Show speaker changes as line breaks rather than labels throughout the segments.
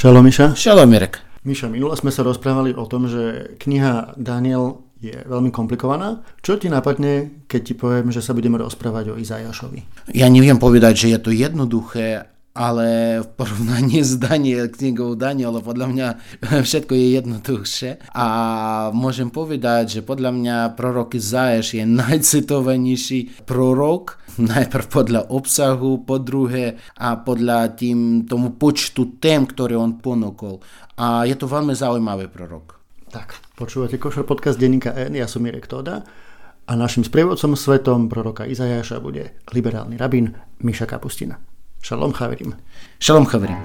Šalom, Miša.
Šalom, Mirek.
Miša, minule sme sa rozprávali o tom, že kniha Daniel je veľmi komplikovaná. Čo ti napadne, keď ti poviem, že sa budeme rozprávať o Izajašovi?
Ja neviem povedať, že je to jednoduché, ale v porovnaní s knihou Daniela podľa mňa všetko je jednoduchšie. A môžem povedať, že podľa mňa prorok Izajaš je najcitovanejší prorok, najprv podľa obsahu, po druhé a podľa tomu počtu tém, ktoré on ponúkol. A je to veľmi zaujímavý prorok.
Tak, počúvate Košer podcast denníka N, ja som Mirek Tóda a našim sprievodcom svetom proroka Izajaša bude liberálny rabín Miša Kapustina. Šalom chaverim.
Šalom chaverim.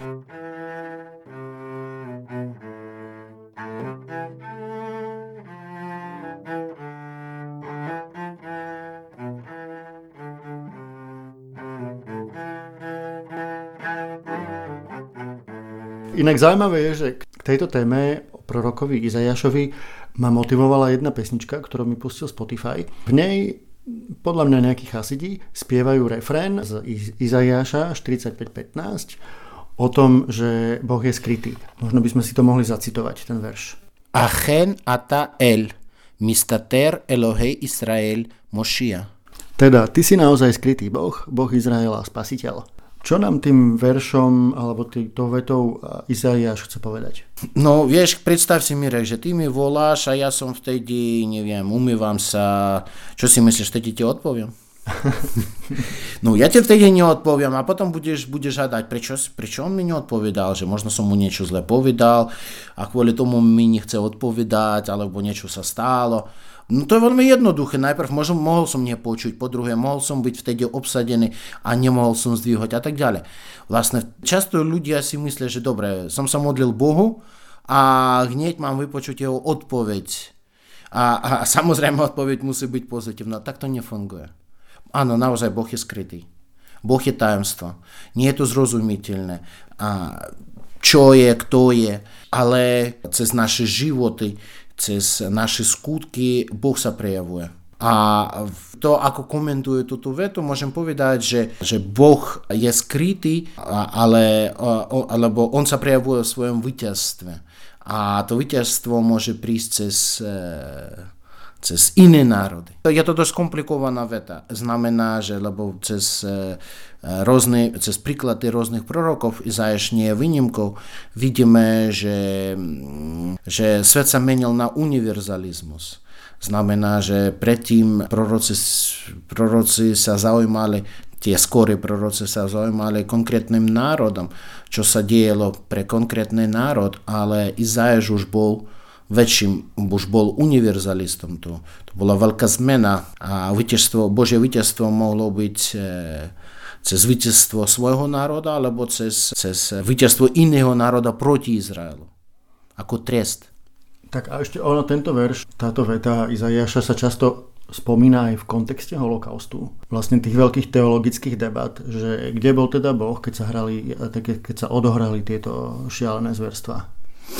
Inak zaujímavé je, že k tejto téme o prorokovi Izajašovi ma motivovala jedna pesnička, ktorú mi pustil Spotify. V nej podľa mňa nejakí chasidí spievajú refrén z Izajaša 45:15 o tom, že Boh je skrytý. Možno by sme si to mohli zacitovať, ten verš.
Achen ata el, mistater Elohei Israel, Mošia.
Teda, ty si naozaj skrytý Boh, Boh Izraela, spasiteľ. Čo nám tým veršom alebo tou vetou Izajaš chce povedať?
No vieš, predstav si, Mirek, že ty mi voláš a ja som vtedy, neviem, umývam sa. Čo si myslíš, vtedy ti odpoviem? No ja ti vtedy neodpoviem a potom budeš hľadať, prečo on mi neodpovedal, že možno som mu niečo zle povedal a kvôli tomu mi nechce odpovedať alebo niečo sa stalo. No to je veľmi jednoduché. Najprv mohol som nepočuť, po druhé mohol som byť vtedy obsadený a nemohol som zdvihať a tak ďalej. Vlastne často ľudia si myslia, že dobre, som sa modlil Bohu a hneď mám vypočuť jeho odpoveď. A samozrejme odpoveď musí byť pozitívna. Tak to nefunguje. Áno, naozaj Boh je skrytý. Boh je tajomstvo. Nie je to zrozumiteľné. Čo je, kto je, ale cez naše životy, cez naše skutky Boh sa prejavuje. A to, ako komentuje túto vetu, môžem povedať, že Boh je skrytý, alebo on sa prejavuje v svojom víťazstve. A to víťazstvo môže prísť cez iné národy. Je to dosť komplikovaná veta. Znamená, že lebo cez príklady rôznych prorokov, Izajaš nie je výnimkou, vidíme, že svet sa menil na univerzalizmus. Znamená, že predtým proroci sa zaujímali, tie skorí proroci sa zaujímali konkrétnym národom, čo sa dielo pre konkrétny národ, ale Izajaš už bol univerzalistom. To bola veľká zmena a Božie víťazstvo mohlo byť cez víťazstvo svojho národa alebo cez víťazstvo iného národa proti Izraelu. Ako trest.
Tak a ešte tento verš, táto veta Izajaša sa často spomína aj v kontexte holokaustu. Vlastne tých veľkých teologických debat, že kde bol teda Boh, keď sa odohrali tieto šialené zverstvá.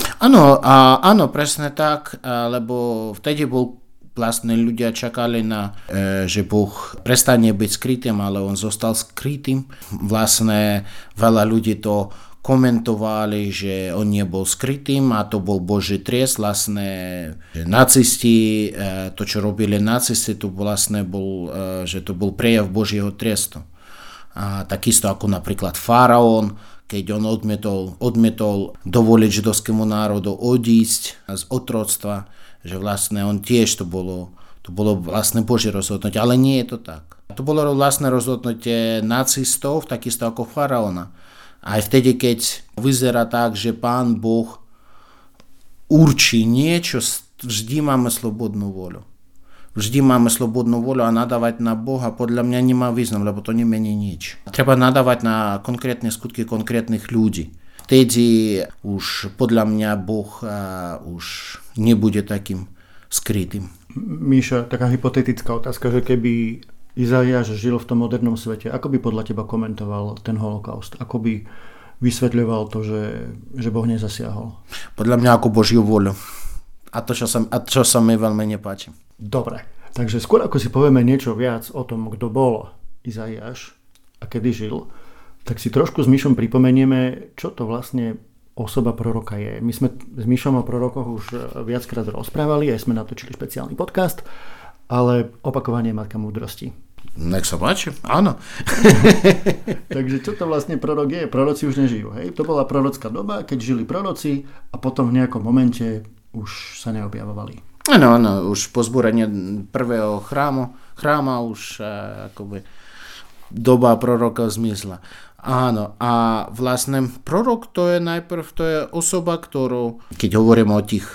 Áno, presne tak, lebo vtedy vlastne ľudia čakali že Boh prestane byť skrytým, ale on zostal skrytým. Vlastne veľa ľudí to komentovali, že on nebol skrytým a to bol Boží trest. Vlastne nacisti, to čo robili nacisti, to vlastne že to bol prejav Božieho trestu. A takisto ako napríklad faraón, keď on odmietol dovoliť židovskému národu odísť z otroctva, že vlastne on tiež to bolo vlastne Božie rozhodnutie, ale nie je to tak. To bolo vlastne rozhodnutie nacistov, takisto ako faraóna. Aj vtedy, keď vyzerá tak, že Pán Boh určí niečo, vždy máme slobodnú voľu. Vždy máme slobodnú voľu a nadávať na Boha podľa mňa nemá význam, lebo to nemení nič. Treba nadávať na konkrétne skutky konkrétnych ľudí. Vtedy už podľa mňa Boh už nebude takým skrytým.
Míša, taká hypotetická otázka, že keby Izajaš žil v tom modernom svete, ako by podľa teba komentoval ten holokaust? Ako by vysvetľoval to, že Boh nezasiahol?
Podľa mňa ako Božiu voľu. A čo sa mi veľmi nepáči.
Dobre, takže skôr ako si povieme niečo viac o tom, kto bol Izajaš a kedy žil, tak si trošku s Mišom pripomenieme, čo to vlastne osoba proroka je. My sme s Mišom o prorokoch už viackrát rozprávali, aj sme natočili špeciálny podcast, ale opakovanie je matka múdrosti.
Nech sa páči, áno.
Takže čo to vlastne prorok je? Proroci už nežijú, hej? To bola prorocká doba, keď žili proroci a potom v nejakom momente už sa neobjavovali.
Áno, už po zbúraní prvého chráma už akoby doba proroka zmizla. Áno, a vlastne prorok to je osoba, ktorú, keď hovoríme o tých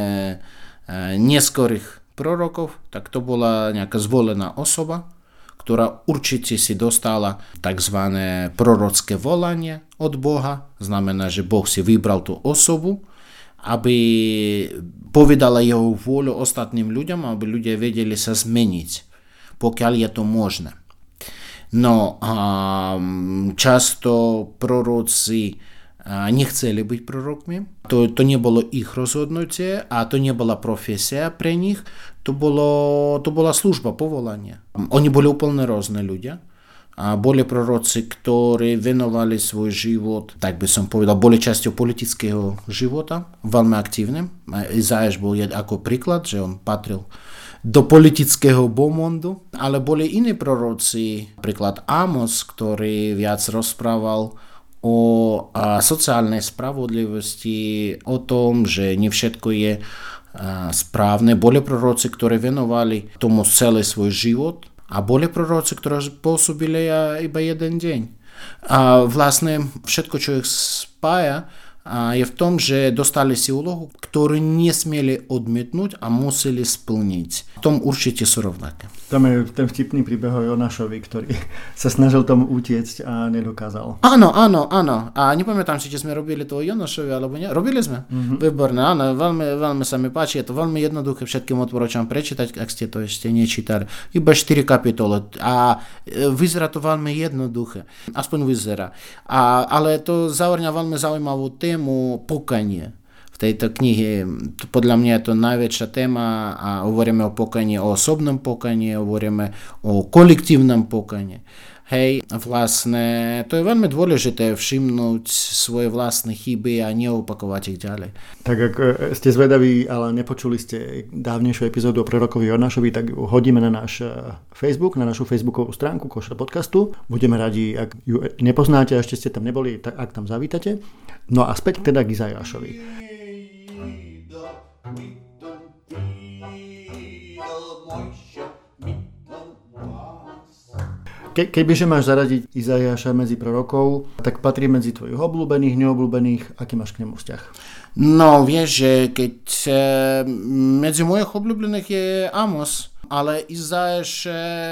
neskorých prorokov, tak to bola nejaká zvolená osoba, ktorá určite si dostala tzv. Prorocké volanie od Boha. Znamená, že Boh si vybral tú osobu, aby povedala jeho vôľu ostatným ľuďom, aby ľudia vedeli sa zmeniť, pokiaľ je to možné. No a často proroci nechceli byť prorokmi. To nebolo ich rozhodnutie a to nebola profesia pre nich. To bola služba, povolanie. Oni boli úplne rôzne ľudia. A boli proroci, ktorí venovali svoj život, tak by som povedal, boli časťou politického života, veľmi aktívnym. Izajáš bol ako príklad, že on patril do politického bomondu, ale boli iní proroci, napríklad Amos, ktorý viac rozprával o sociálnej spravodlivosti, o tom, že nie všetko je správne. Boli proroci, ktorí venovali tomu celý svoj život a boli proroci, ktorí pôsobili iba jeden deň. A vlastne všetko, čo ich spája, je v tom, že dostali si úlohu, ktorú nesmieli odmietnúť a museli splniť. V tom určite sú rovnaké.
Tam je ten vtipný príbeh o Jonášovi, ktorý sa snažil tomu utiecť a nedokázal.
Áno. A nepamätám si, či sme robili to o Jonášovi, alebo nie. Robili sme? Výborné, áno. Veľmi sa mi páči. Je to veľmi jednoduché. Všetkým odporúčam prečítať, ak ste to ešte nečítali. Iba 4 kapitoly. A vyzerá to veľmi jednoduché. Aspoň vyzerá. Ale to zahrňa veľmi zaujímavú tému pokanie. V tejto knihe, podľa mňa je to najväčšia téma a hovoríme o pokaní, o osobnom pokaní, hovoríme o kolektívnom pokaní. Hej, vlastne to je veľmi dôležité všimnúť svoje vlastné chyby a neopakovať ich ďalej.
Tak ak ste zvedaví, ale nepočuli ste dávnejšiu epizódu o prorokovi Jonášovi, tak ju hodíme na náš Facebook, na našu facebookovú stránku Košer podcastu. Budeme radi, ak ju nepoznáte a ešte ste tam neboli, tak ak tam zavítate. No a späť teda k Izajášovi. Kebyže máš zaradiť Izajáša medzi prorokov, tak patrí medzi tvojich obľúbených, neobľúbených, aký máš k nemu vzťah?
No, vieš, že keď medzi mojich obľúbených je Amos, ale Izajáš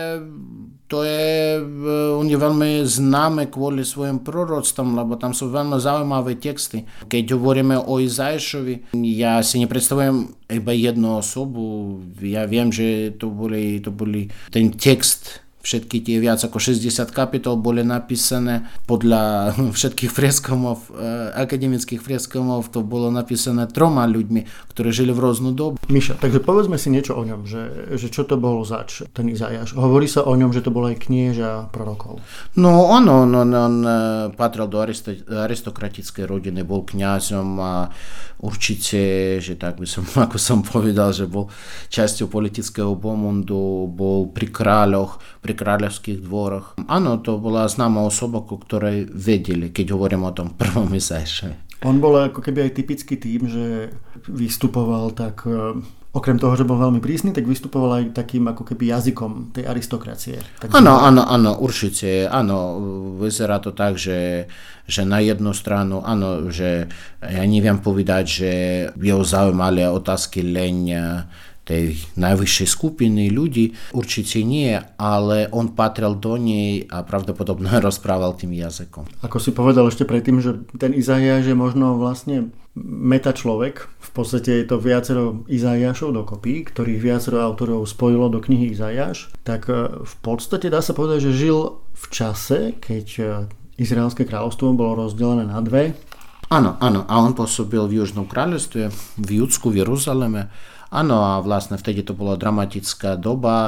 on je veľmi známy kvôli svojim proroctvom, lebo tam sú veľmi zaujímavé texty. Keď hovoríme o Izajášovi, ja si nepredstavujem iba jednu osobu, ja viem, že to boli ten text. Všetky tie viac ako 60 kapitol boli napísané podľa všetkých freskomov, akademických freskomov, to bolo napísané 3 ľuďmi, ktorí žili v rôznu dobu.
Miša, takže povedzme si niečo o ňom, že čo to bolo zač, ten Izajáš. Hovorí sa o ňom, že to bolo aj knieža prorokov.
No, on patril do aristokratickej rodiny, bol kňazom a určite, že tak by som, ako som povedal, že bol časťou politického bomondu, bol pri kráľoch, pri kráľovských dvoroch. Áno, to bola známa osoba, ku ktorej vedeli, keď hovorím o tom prvom Izajášovi.
On bol ako keby aj typický tým, že vystupoval tak, okrem toho, že bol veľmi prísny, tak vystupoval aj takým ako keby jazykom tej aristokracie.
Áno, určite. Áno, vyzerá to tak, že na jednu stranu, áno, že ja neviem povedať, že jeho zaujímali otázky len tej najvyššej skupiny ľudí, určite nie, ale on patril do nej a pravdepodobne rozprával tým jazykom.
Ako si povedal ešte predtým, že ten Izajáš je možno vlastne meta človek, v podstate je to viacero Izajášov dokopy, ktorých viacero autorov spojilo do knihy Izajáš, tak v podstate dá sa povedať, že žil v čase, keď Izraelské kráľovstvo bolo rozdelené na 2.
Áno, a on pôsobil v Južnom kráľovstve, v Judsku, v Jeruzaleme. Áno, a vlastne vtedy to bola dramatická doba,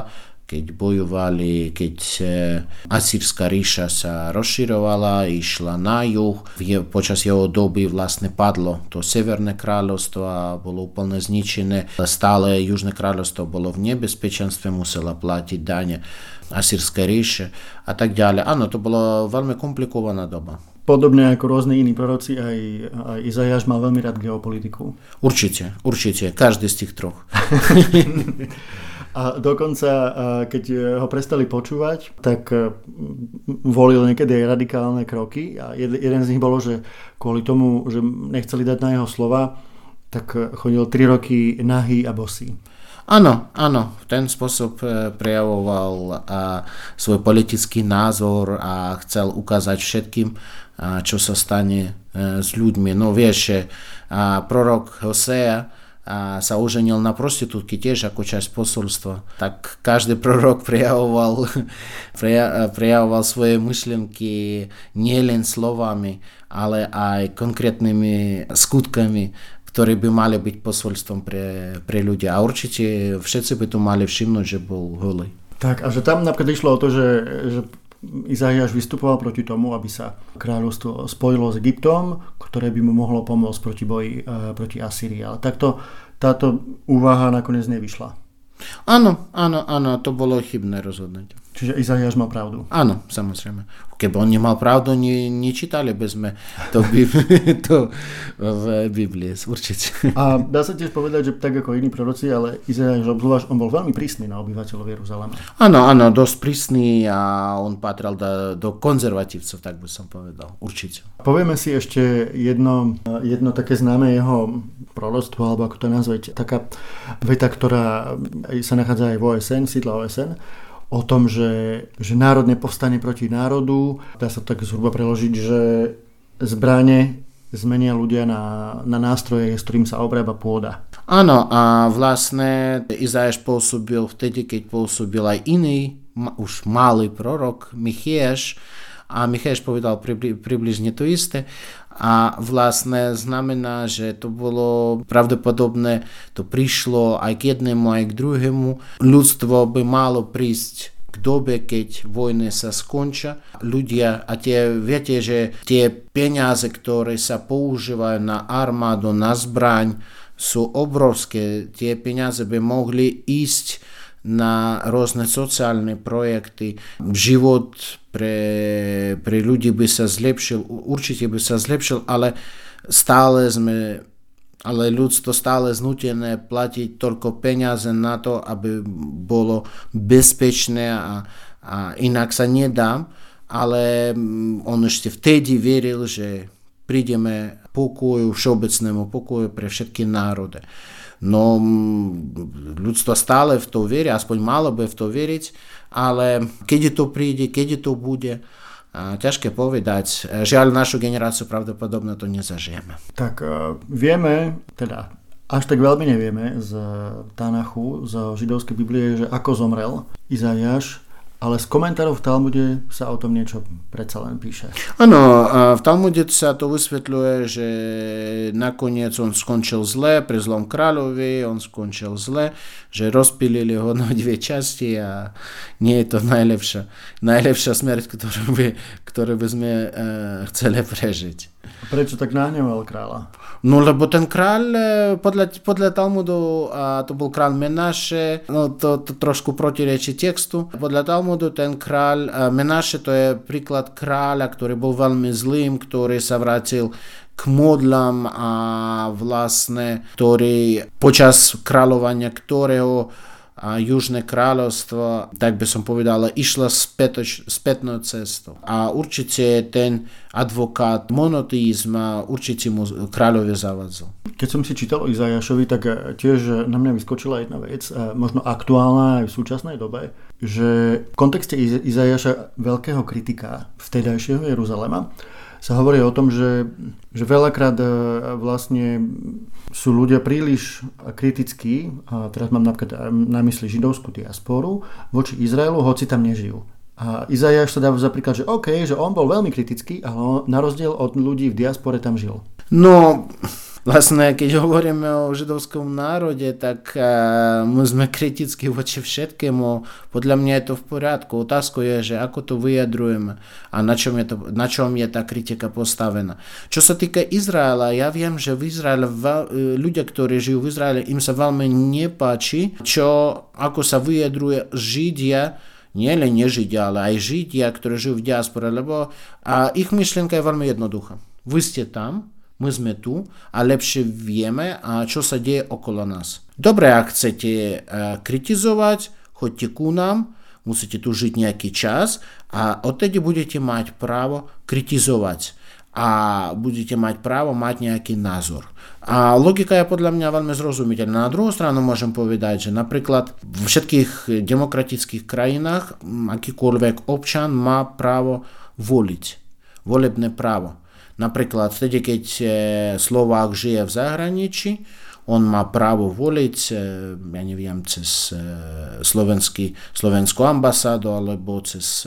keď bojovali, keď Asýrská ríša sa rozširovala, išla na juh. Počas jeho doby vlastne padlo to Severné kráľovstvo a bolo úplne zničené. Stále Južné kráľovstvo bolo v nebezpečenstve, muselo platiť dane Asýrskej ríše a tak ďalej. Áno, to bola veľmi komplikovaná doba.
Podobne ako rôzne iní proroci, aj Izaiáš mal veľmi rád geopolitiku.
Určite, každý z tých troch.
A dokonca, keď ho prestali počúvať, tak volil niekedy aj radikálne kroky a jeden z nich bolo, že kvôli tomu, že nechceli dať na jeho slova, tak chodil 3 roky nahý a bosý.
Áno, v ten spôsob prejavoval svoj politický názor a chcel ukázať všetkým, čo sa stane s ľuďmi. No vieš, prorok Hosea sa oženil na prostitútky tiež ako časť posolstva. Tak každý prorok prejavoval svoje myšlienky nielen slovami, ale aj konkrétnymi skutkami, ktoré by mali byť posolstvom pre ľudí. A určite všetci by to mali všimnúť, že bol holý.
Tak, a že tam napríklad išlo o to, že Izaiáš vystupoval proti tomu, aby sa kráľovstvo spojilo s Egyptom, ktoré by mu mohlo pomôcť proti boji proti Asýrii. Ale takto táto úvaha nakoniec nevyšla.
Áno, to bolo chybné rozhodnutie.
Čiže Izaiáš mal pravdu.
Áno, samozrejme. Keby on nemal pravdu, nečítali by sme to v Biblii, určite.
A dá sa tiež povedať, že tak ako iní proroci, ale Izaiáš obzvlášť, on bol veľmi prísny na obyvateľov Jeruzalema.
Áno, dosť prísny a on patril do konzervatívcov, tak by som povedal, určite.
Povieme si ešte jedno také známe jeho proroctvo, alebo ako to nazvať, taká veta, ktorá sa nachádza aj v OSN, v sídle OSN, o tom, že národ nepovstane proti národu. Dá sa tak zhruba preložiť, že zbrane zmenia ľudia na nástroje, s ktorým sa obrába pôda.
Áno, a vlastne Izaiáš pôsobil vtedy, keď pôsobil aj iný, už malý prorok, Micheáš, a Micheáš povedal približne to isté. A vlastne znamená, že to bolo pravdepodobné, to prišlo aj k jednému, aj k druhému. Ľudstvo by malo prísť k dobe, keď vojny sa skončia. Ľudia, a viete, že tie peniaze, ktoré sa používajú na armádu, na zbraň, sú obrovské. Tie peniaze by mohli ísť na rôzne sociálne projekty. Život pre ľudí by sa zlepšil, určite by sa zlepšil, ale ľudstvo stále znútené platiť toľko peniaze na to, aby bolo bezpečné a inak sa nedá, ale on ešte vtedy veril, že prídeme pokoju, všeobecnému pokoju pre všetky národy. No ľudstvo stále v to verí, aspoň malo by v to veriť, ale keď to príde, keď to bude, ťažké povedať. Žiaľ, našu generáciu pravdepodobne to nezažijeme.
Tak vieme, teda až tak veľmi nevieme z Tanachu, z židovskej Biblie, že ako zomrel Izaiáš, ale z komentárov v Talmude sa o tom niečo predsa len píše.
Áno, v Talmude sa to vysvetľuje, že nakoniec on skončil zle, pri zlom kráľovi, on skončil zle, že rozpílili ho na 2 časti a nie je to najlepšia smrť, ktorú by sme chceli prežiť.
Prečo tak nahneval kráľa?
No, lebo ten kráľ, podľa Talmudu, to bol kráľ Menáše, no to trošku protirečí textu. Podľa Talmudu ten kráľ Menáše, to je príklad kráľa, ktorý bol veľmi zlým, ktorý sa vrátil k modlám a vlastne, ktorý počas kráľovania ktorého Južné kráľovstvo, tak by som povedal, išlo spätnou cestou. A určite ten advokát monoteizma určite mu kráľovi zavadzal.
Keď som si čítal o Izaiášovi, tak tiež na mňa vyskočila jedna vec, možno aktuálna aj v súčasnej dobe, že v kontexte Izaiáša, veľkého kritika vtedajšieho Jeruzalema, sa hovorí o tom, že veľakrát vlastne sú ľudia príliš kritickí, a teraz mám napríklad na mysli židovskú diasporu, voči Izraelu, hoci tam nežijú. A Izaiáš sa dáva za príklad, že že on bol veľmi kritický, ale na rozdiel od ľudí v diaspore tam žil.
No, Vlastne, keď hovoríme o židovskom národe, tak my sme kriticky voči všetkému. Podľa mňa je to v poriadku. Otázka je, že ako to vyjadrujeme a na čom je tá kritika postavená. Čo sa týka Izraela, ja viem, že v Izraele ľudia, ktorí žijú v Izraele, im sa veľmi nepáči, ako sa vyjadruje Židia, nielen nežidia, ale aj Židia, ktorí žijú v diaspore, lebo ich myšlienka je veľmi jednoduchá. Vy ste tam, my sme tu a lepšie vieme, čo sa deje okolo nás. Dobre, ak chcete kritizovať, choďte ku nám, musíte tu žiť nejaký čas a odtedy budete mať právo kritizovať a budete mať právo mať nejaký názor. A logika je podľa mňa veľmi zrozumiteľná. Na druhú stranu môžem povedať, že napríklad v všetkých demokratických krajinách akýkoľvek občan má právo voliť. Volebné právo. Napríklad vtedy, keď Slovák žije v zahraničí, on má právo voliť, ja neviem, cez slovenskú ambasádu alebo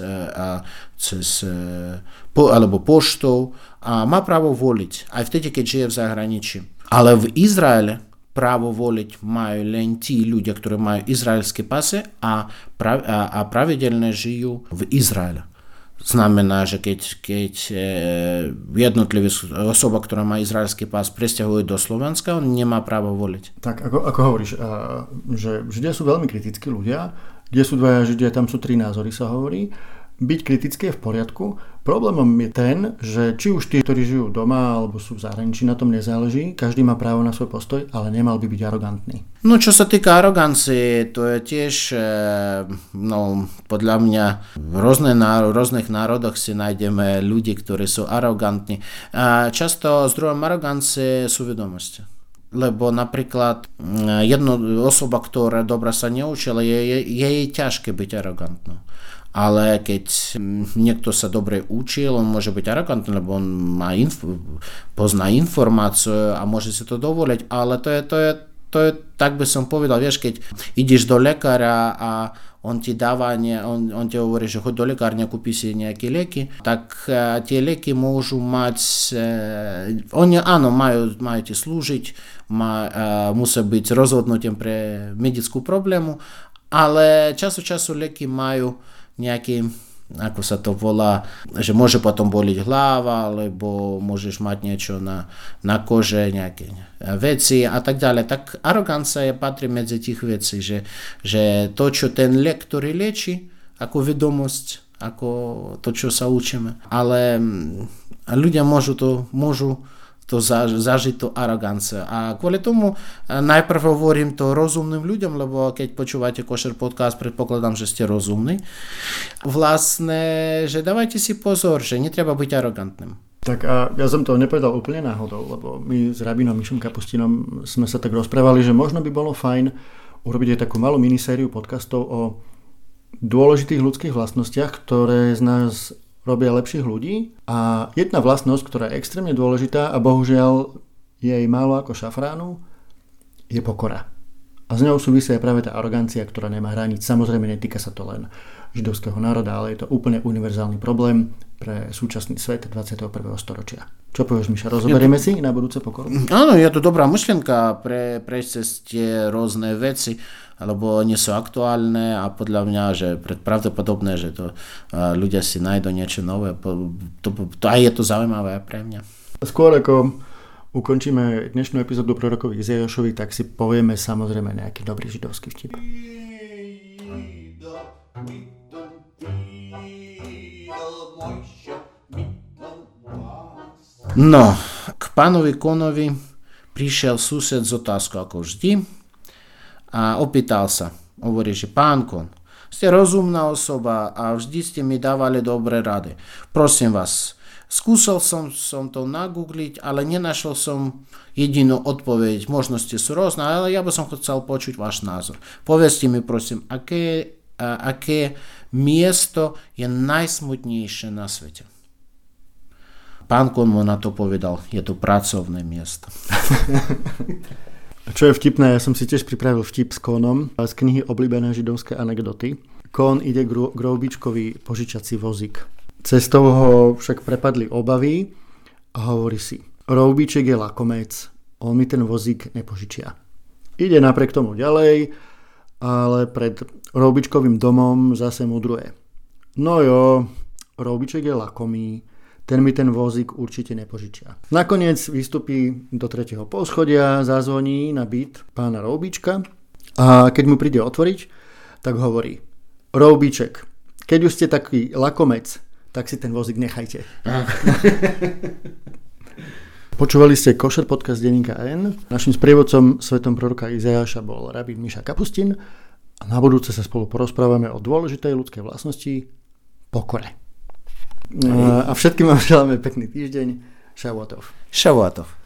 alebo poštou a má právo voliť, aj vtedy, keď žije v zahraničí. Ale v Izraele právo voliť majú len tí ľudia, ktorí majú izraelské pasy a pravidelne žijú v Izraele. Znamená, že keď jednotlivý osoba, ktorá má izraelský pás, presťahuje do Slovenska, on nemá právo voliť.
Tak ako hovoríš, že Židia sú veľmi kritickí ľudia, kde sú dvaja Židia, tam sú 3 názory, sa hovorí. Byť kritický je v poriadku. Problémom je ten, že či už tí, ktorí žijú doma alebo sú v zahraničí, na tom nezáleží. Každý má právo na svoj postoj, ale nemal by byť arogantný.
No čo sa týka arogancie, to je tiež, podľa mňa v rôznych národoch si nájdeme ľudí, ktorí sú arogantní. A často zdrojom arogancie sú vedomosti. Lebo napríklad jedna osoba, ktorá dobre sa neučila, je jej ťažké byť arogantnou. Ale keď niekto sa dobre učil, on môže byť arogantný, lebo on pozná informáciu a môže si to dovoliť. Ale to je, tak by som povedal, vieš, keď ideš do lekára a on ti dáva, on ti hovorí, že choď do lekárne, kúpi si nejaké lieky, tak tie lieky môžu mať, oni áno, majú ti slúžiť, musia byť rozhodnutím pre medickú problému, ale času lieky majú nejaký, ako sa to volá, že môže potom boliť hlava, alebo môžeš mať niečo na kože, nejaké veci a tak ďalej. Tak arogancia patrí medzi tých vecí, že to, čo ten liek, ktorý lieči, ako vedomosť, ako to, čo sa učíme. Ale ľudia môžu to zažiť to arogancia. A kvôli tomu najprv hovorím to rozumným ľuďom, lebo keď počúvate Košer podcast, predpokladám, že ste rozumní. Vlastne, že dávajte si pozor, že netreba byť arogantným.
Tak a ja som to nepovedal úplne náhodou, lebo my s rabinom Mišom Kapustinom sme sa tak rozprávali, že možno by bolo fajn urobiť aj takú malú minisériu podcastov o dôležitých ľudských vlastnostiach, ktoré z nás robia lepších ľudí. A jedna vlastnosť, ktorá je extrémne dôležitá a bohužiaľ je jej málo ako šafránu, je pokora. A z ňou súvisí aj práve tá arogancia, ktorá nemá hraníc. Samozrejme, netýka sa to len židovského národa, ale je to úplne univerzálny problém pre súčasný svet 21. storočia. Čo povieš, Miša? Rozoberieme si na budúce pokoru?
Áno, je to dobrá myšlienka prejsť cez tie rôzne veci, lebo nie sú aktuálne a podľa mňa, že pravdepodobné, že to ľudia si nájdu niečo nové. To aj je to zaujímavé pre mňa. Skôr
ako ukončíme dnešnú epizódu prorokovi Izaiášovi, tak si povieme samozrejme nejaký dobrý židovský vtip.
No, k pánovi Konovi prišiel sused s otázkou ako vždy a opýtal sa. Hovorí, že pán Kon, ste rozumná osoba a vždy ste mi dávali dobré rady. Prosím vás, skúsil som to nagoogliť, ale nenašiel som jedinú odpoveď. Možnosti sú rôzne, ale ja by som chcel počuť váš názor. Povedzte mi prosím, aké miesto je najsmutnejšie na svete. Pán Kon mu na to povedal, je to pracovné miesto.
A čo je vtipné, ja som si tiež pripravil vtip s Konom z knihy Oblíbené židovské anekdoty. Kon ide k roubičkovi požičací vozík. Cestou ho však prepadli obavy a hovorí si, roubiček je lakomec, on mi ten vozík nepožičia. Ide napriek tomu ďalej, ale pred Roubičkovým domom zase mudruje. No jo, Roubiček je lakomý, ten mi ten vozík určite nepožičia. Nakoniec vystupí do 3. poschodia, zazvoní na byt pána Roubička a keď mu príde otvoriť, tak hovorí: Roubiček, keď už ste taký lakomec, tak si ten vozík nechajte. Počúvali ste Košer podcast denníka N. Naším sprievodcom svetom proroka Izajaša bol rabín Miša Kapustin a na budúce sa spolu porozprávame o dôležitej ľudskej vlastnosti pokore. A všetkým vám želáme pekný týždeň. Šavuatov.